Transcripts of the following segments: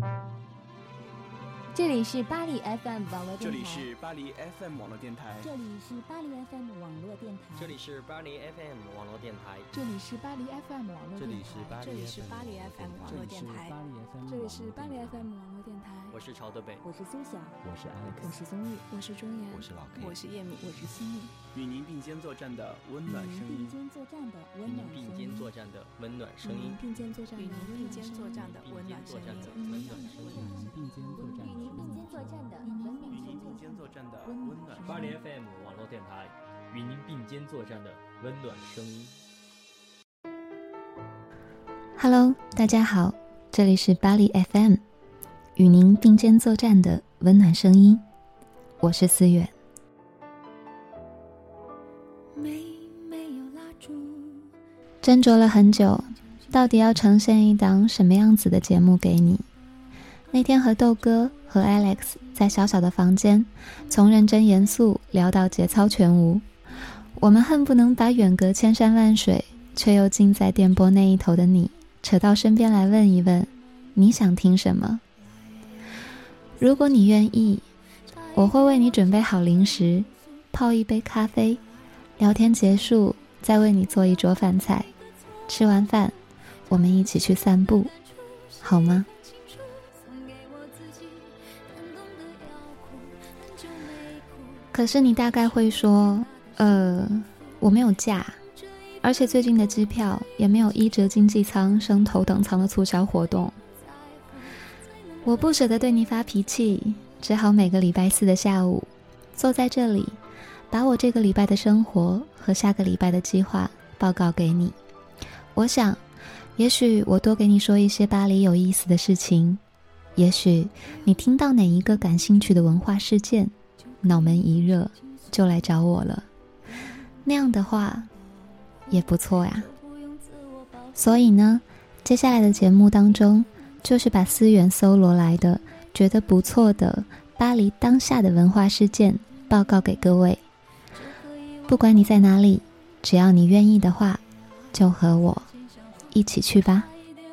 这里是巴黎 FM 网络电台， 这里是巴黎 FM 网络电台， 这里是巴黎 FM 网络电台， 这里是巴黎 FM 网络电台， 这里是巴黎 FM 网络电台， 这里是巴黎 FM 网络电台， 这里是巴黎 FM 网络电台。 我是朝德北， 我是苏霞， 我是 Alex， 我是宗玉， 我是钟岩， 我是老 K， 我是叶敏， 我是心雨。 与您并肩作战的温暖声音， 与您并肩作战的温暖声音， 并肩作战的温暖声音， 并肩作战的并肩作战的温暖声音， 温暖声音， 并肩作战， 与您并肩作战的温暖声音， 与您并肩作战的温暖。 巴黎 FM 网络电台，与您并肩作战的温暖声音。 Hello， 大家好，这里是巴黎 FM， 与您并肩作战的温暖声音，我是思远。斟酌了很久，到底要呈现一档什么样子的节目给你？那天和豆哥和 Alex 在小小的房间，从认真严肃聊到节操全无，我们恨不能把远隔千山万水却又近在电波那一头的你扯到身边来问一问，你想听什么？如果你愿意，我会为你准备好零食，泡一杯咖啡，聊天结束再为你做一桌饭菜，吃完饭我们一起去散步，好吗？可是你大概会说，我没有假，而且最近的机票也没有1折经济舱升头等舱的促销活动。我不舍得对你发脾气，只好每个礼拜4的下午坐在这里，把我这个礼拜的生活和下个礼拜的计划报告给你。我想也许我多给你说一些巴黎有意思的事情，也许你听到哪一个感兴趣的文化事件，脑门一热就来找我了，那样的话也不错呀。所以呢，接下来的节目当中，就是把思源搜罗来的觉得不错的巴黎当下的文化事件报告给各位。不管你在哪里，只要你愿意的话，就和我一起去吧。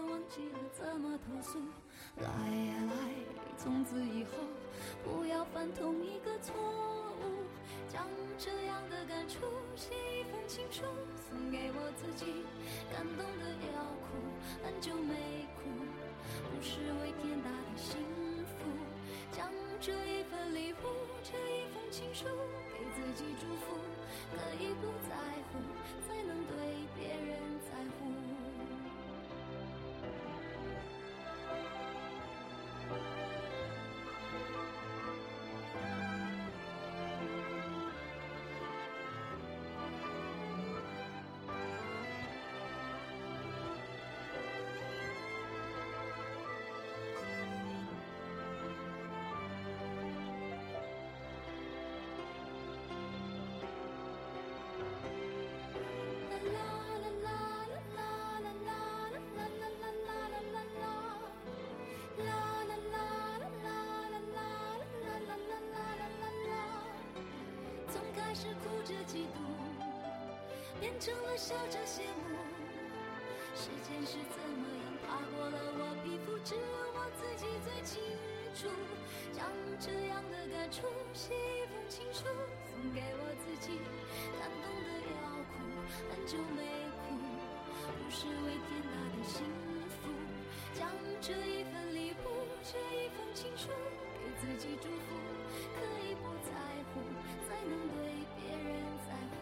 是哭着嫉妒，变成了笑着羡慕。时间是怎么样爬过了我皮肤，只有我自己最清楚。将这样的感触写一封情书，送给我自己，感动的要哭，很久没哭，不是为天大的幸福。将这一份礼物，这一封情书，给自己祝福，可以不在乎，才能对别人在乎。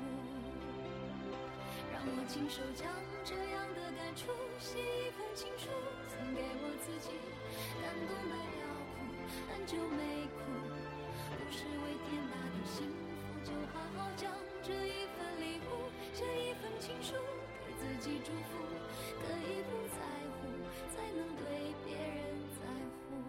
让我亲手将这样的感触写一封情书，送给我自己，感动的要哭，很久没哭，不是为天大的幸福，就好好将这一份礼物，这一份情书，给自己祝福，可以不在乎，才能对别人在乎。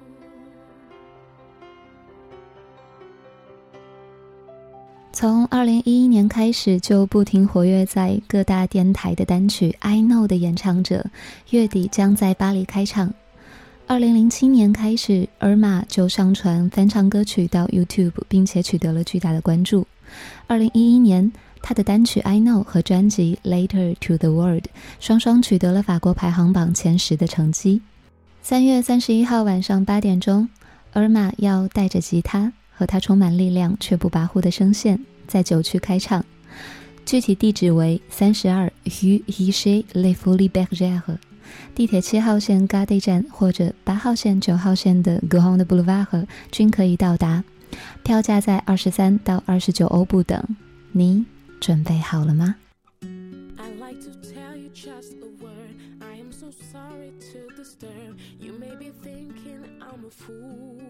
从2011年开始就不停活跃在各大电台的单曲 I Know 的演唱者，月底将在巴黎开唱。2007年开始，尔玛就上传翻唱歌曲到 YouTube， 并且取得了巨大的关注。2011年，他的单曲 I Know 和专辑 Later to the World 双双取得了法国排行榜前10的成绩。 3月31号晚上8点钟，尔玛要带着吉他和他充满力量却不跋扈的声线在9区开唱，具体地址为32 Rue Richer les Folies Bergères， 地铁7号线 Gare 站或者8号线9号线的 Grand Boulevard 均可以到达，票价在23到29欧不等。你准备好了吗？ I like to tell you just a word. I am so sorry to disturb. You may be thinking I'm a fool.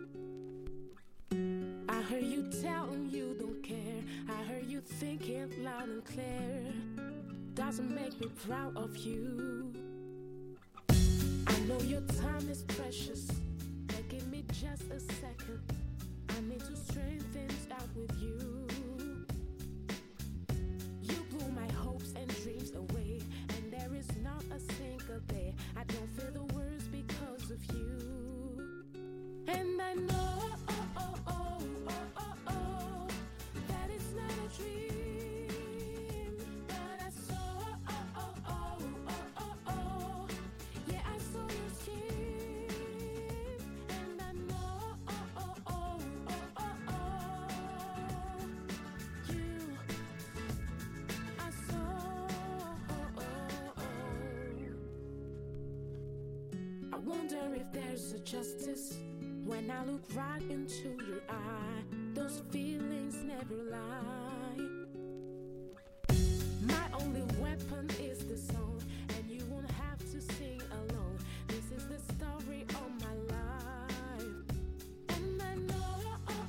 I heard you telling you don't care. I heard you thinking loud and clear. Doesn't make me proud of you. I know your time is precious, but give me just a second. I need to straighten things out with you.You blew my hopes and dreams away, and there is not a single day I don't feel the worst because of you. And I know that it's not a dream, but I saw yeah, I saw your skin, and I know I wonder if there's a justice when I look right into your eye. Those feelings never lie. My only weapon is the song, and you won't have to sing alone. This is the story of my life. And I know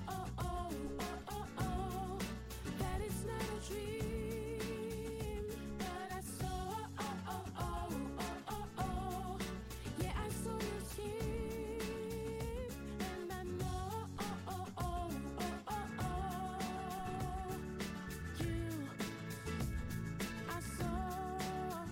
that it's not a dream, but I saw yeah, I saw your skin, and I know you, I saw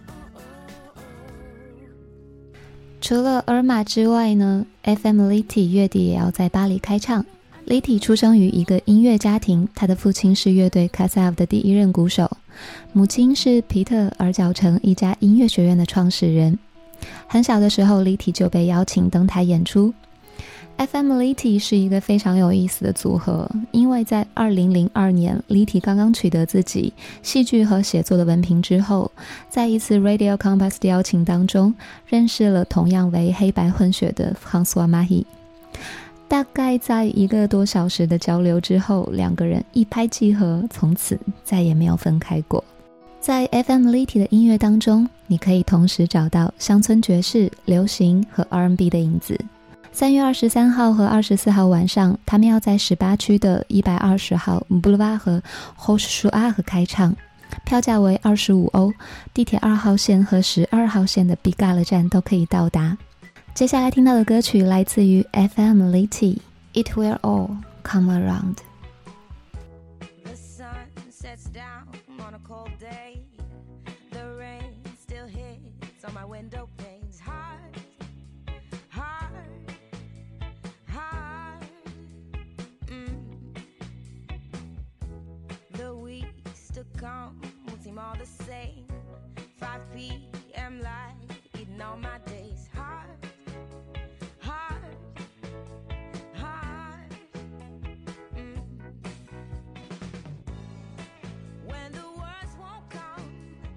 除了尔玛之外呢 FM Litty 月底也要在巴黎开唱。Litty 出生于一个音乐家庭，他的父亲是乐队 Kassav 的第一任鼓手，母亲是皮特尔角城一家音乐学院的创始人。很小的时候 Litty 就被邀请登台演出。FM Litty 是一个非常有意思的组合，因为在2002年 Litty 刚刚取得自己戏剧和写作的文凭之后，在一次 Radio Compass 的邀请当中认识了同样为黑白混血的 François Mahy。大概在1个多小时的交流之后，两个人一拍即合，从此再也没有分开过。在 FM Litty 的音乐当中，你可以同时找到乡村爵士、流行和 R&B 的影子。3月23号和24号晚上，他们要在18区的120号 Boulevard 和 Rochechouart 开唱，票价为25欧，地铁2号线和12号线的 Pigalle 站都可以到达。接下来听到的歌曲来自于 FM Litty It Will All Come Around。 The sun sets down on a cold day. The rain still hits on my window panes. Hard, hard, hard. The weeks to come won't seem all the same. 5 p.m. light eating all my days. Hard, hard, hard. When the words won't come,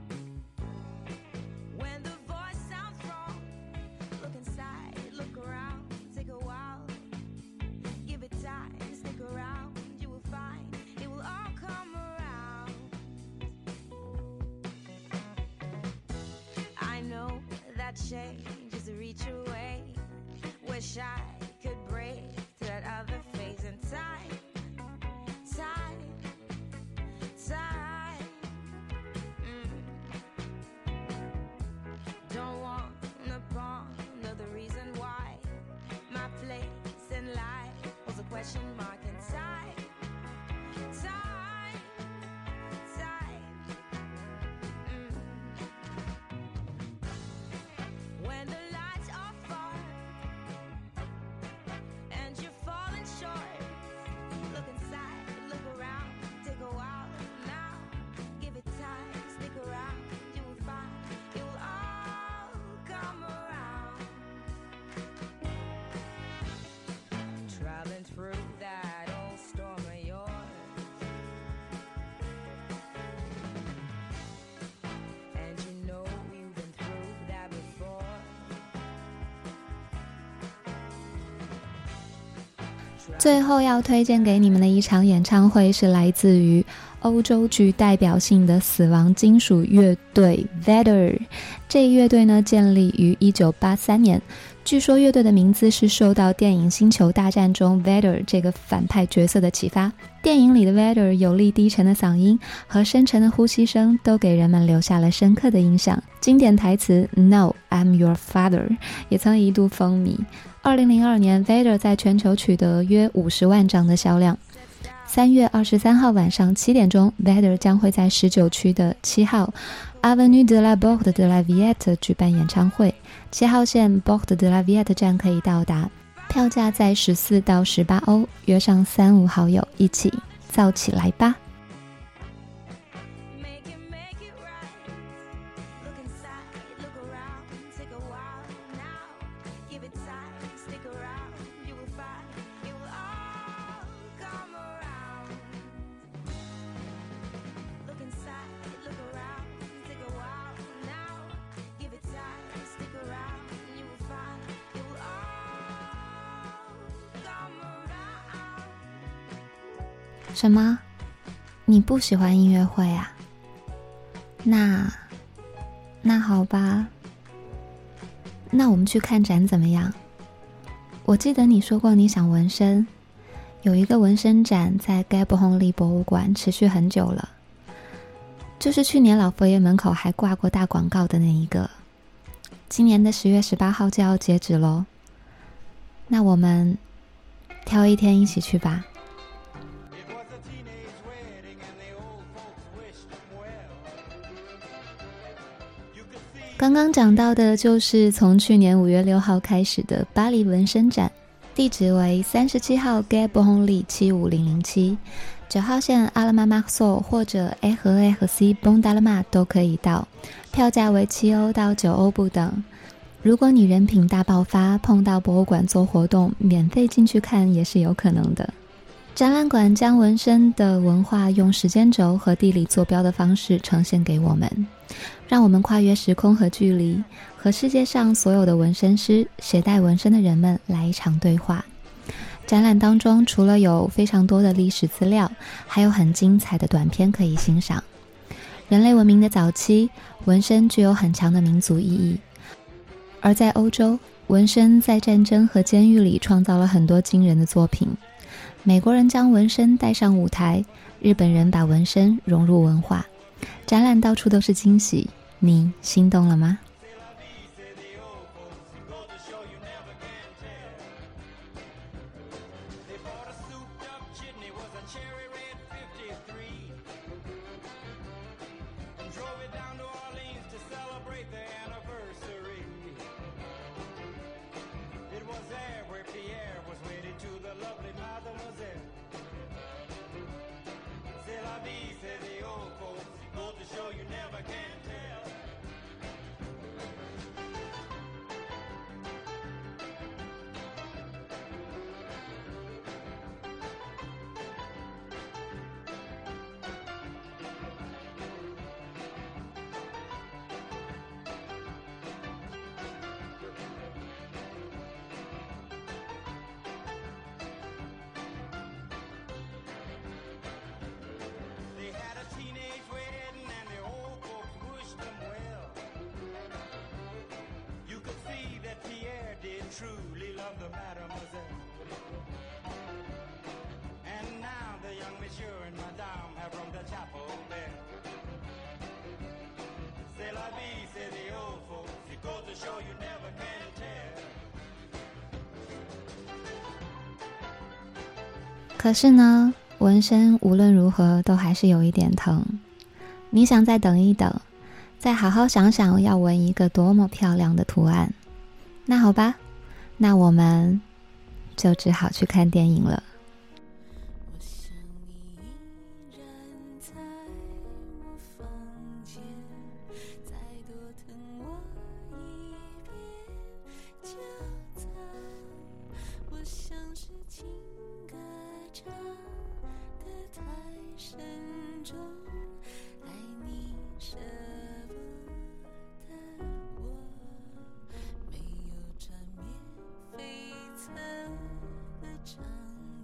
when the voice sounds wrong, look inside, look around, take a while, give it time, stick around, you will find it will all come around. I know that change is a reach away. Wish I could break to that other phase in time, time, time. Don't wanna ponder the reason why my place in life was a question mark inside. Time, time. When the lights are far and you're falling short, 最后要推荐给你们的一场演唱会是来自于欧洲具代表性的死亡金属乐队 Vader。 这一乐队呢建立于1983年，据说乐队的名字是受到电影《星球大战》中 Vader 这个反派角色的启发。电影里的 Vader 有力低沉的嗓音和深沉的呼吸声都给人们留下了深刻的印象。经典台词 No, I'm your father 也曾一度风靡。2002年 Vader 在全球取得约50万张的销量。3月23号晚上7点钟 Vader 将会在19区的7号 Avenue de la Porte de la Villette 举办演唱会。7号线 Porte de la Villette 站可以到达，票价在14到18欧，约上3-5好友一起燥起来吧。什么？你不喜欢音乐会啊？那好吧，那我们去看展怎么样？我记得你说过你想纹身，有一个纹身展在盖布洪利博物馆持续很久了，就是去年老佛爷门口还挂过大广告的那一个。今年的10月18号就要截止咯，那我们挑一天一起去吧。刚刚讲到的就是从去年5月6号开始的巴黎纹身展，地址为37号 Gay Bonhomly 75007， 9号线阿拉玛马索或者 A 和 A 和 C 崩达拉玛都可以到，票价为7欧到9欧不等。如果你人品大爆发，碰到博物馆做活动，免费进去看也是有可能的。展览馆将纹身的文化用时间轴和地理坐标的方式呈现给我们，让我们跨越时空和距离，和世界上所有的纹身师、携带纹身的人们来一场对话。展览当中除了有非常多的历史资料，还有很精彩的短片可以欣赏。人类文明的早期，纹身具有很强的民族意义，而在欧洲，纹身在战争和监狱里创造了很多惊人的作品。美国人将纹身带上舞台，日本人把纹身融入文化。展览到处都是惊喜，你心动了吗？ Truly love the mademoiselle. And now the young monsieur and madame have rung the chapel bell. C'est la vie, say the old folks. It goes to show you never can tell. 可是呢，纹身无论如何都还是有一点疼。你想再等一等，再好好想想要纹一个多么漂亮的图案。那好吧，那我们就只好去看电影了。 我想你依然在我房间，再多疼我一遍就在。我像是情歌唱得太深重，爱你舍不得我，没有缠绵悱恻的长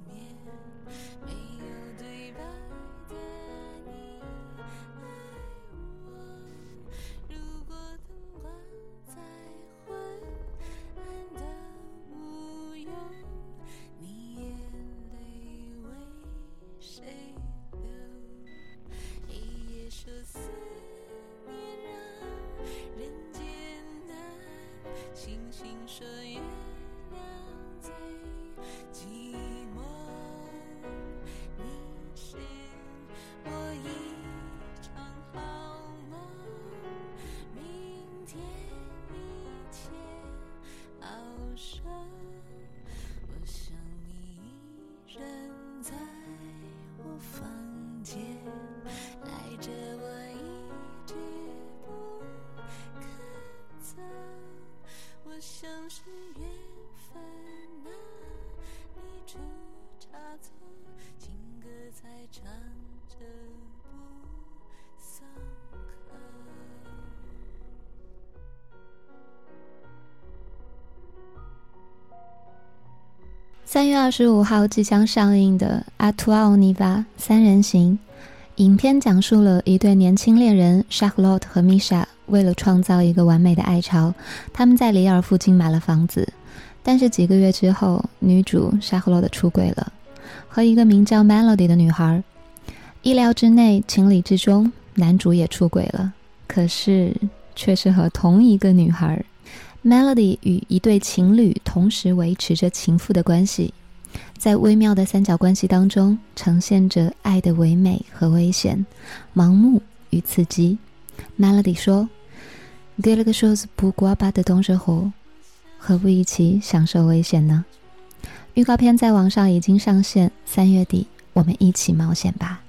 寂寞，你是我一场好梦，明天一切好生。我想你依然在我房间，赖着我一直不肯走。我像是缘分啊，你出差错，情歌才唱着不松口。 3月25号即将上映的《阿图奥尼瓦》三人行，影片讲述了一对年轻恋人 Charlotte 和 Misha 为了创造一个完美的爱巢，他们在里尔附近买了房子。但是几个月之后，女主 Charlotte 出轨了，和一个名叫 Melody 的女孩。意料之内，情理之中，男主也出轨了，可是却是和同一个女孩。Melody 与一对情侣同时维持着情妇的关系，在微妙的三角关系当中呈现着爱的唯美和危险，盲目与刺激。 Melody 说 quelque chose pourquoi pas de dangereux， 何不一起享受危险呢？预告片在网上已经上线，3月底我们一起冒险吧。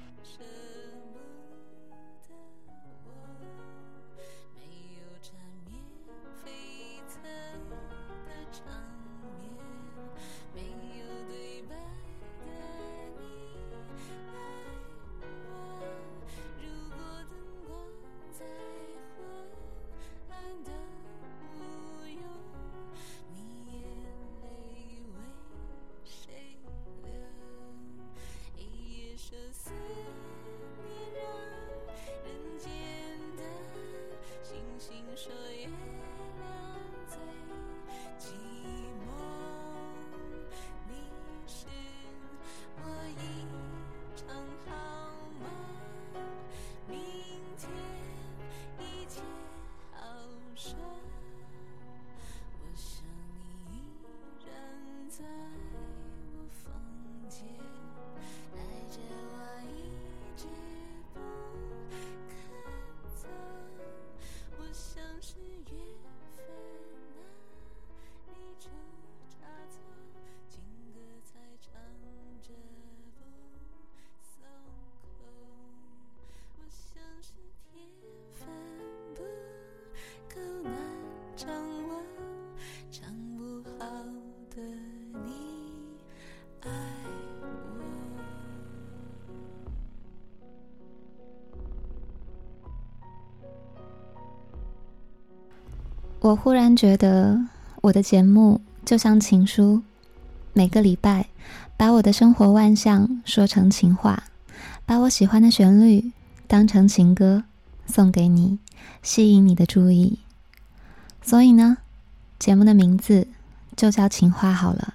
我忽然觉得我的节目就像情书，每个礼拜把我的生活万象说成情话，把我喜欢的旋律当成情歌送给你，吸引你的注意。所以呢，节目的名字就叫情话好了。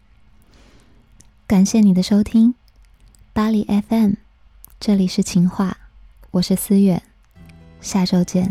感谢你的收听，巴黎 FM， 这里是情话，我是思远，下周见。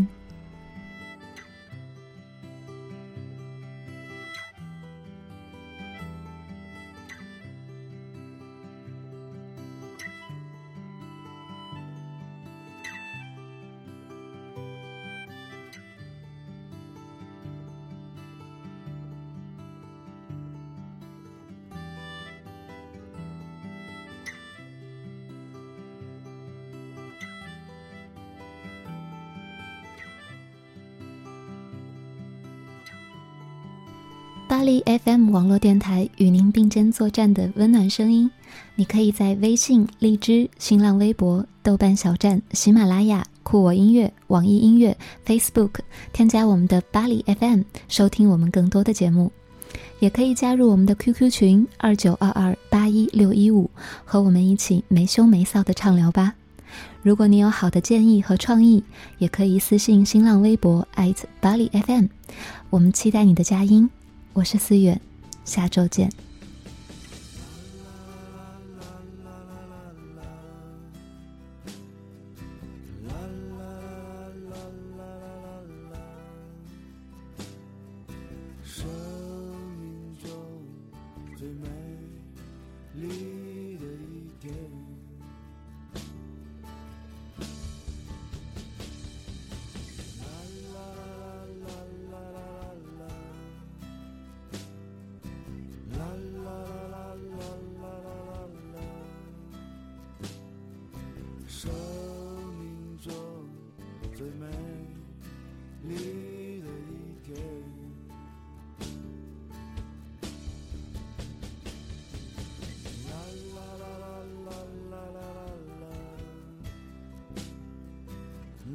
巴黎 FM 网络电台与您并肩作战的温暖声音，你可以在微信、荔枝、新浪微博、豆瓣小站、喜马拉雅、酷我音乐、网易音乐、Facebook 添加我们的巴黎 FM 收听我们更多的节目，也可以加入我们的 QQ 群2922816115，和我们一起没羞没臊的畅聊吧。如果你有好的建议和创意，也可以私信新浪微博巴黎 FM， 我们期待你的佳音。我是思远，下周见。 生命中最美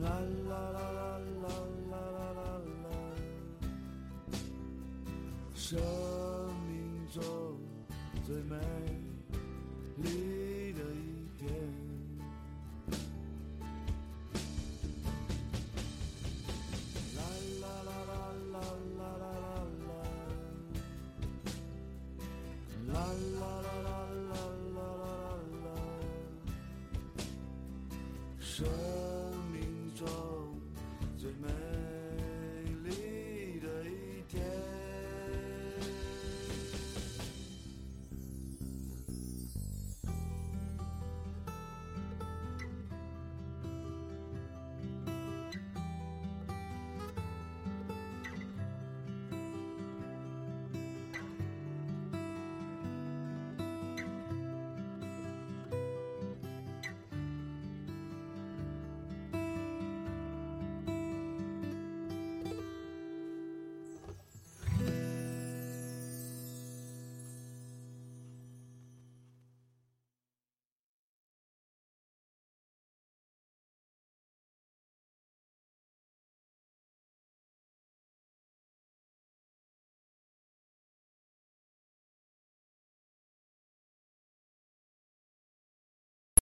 啦啦啦啦啦啦啦啦啦，生命中最美丽的一天。啦啦啦啦啦啦啦啦，啦啦啦啦啦啦啦啦，生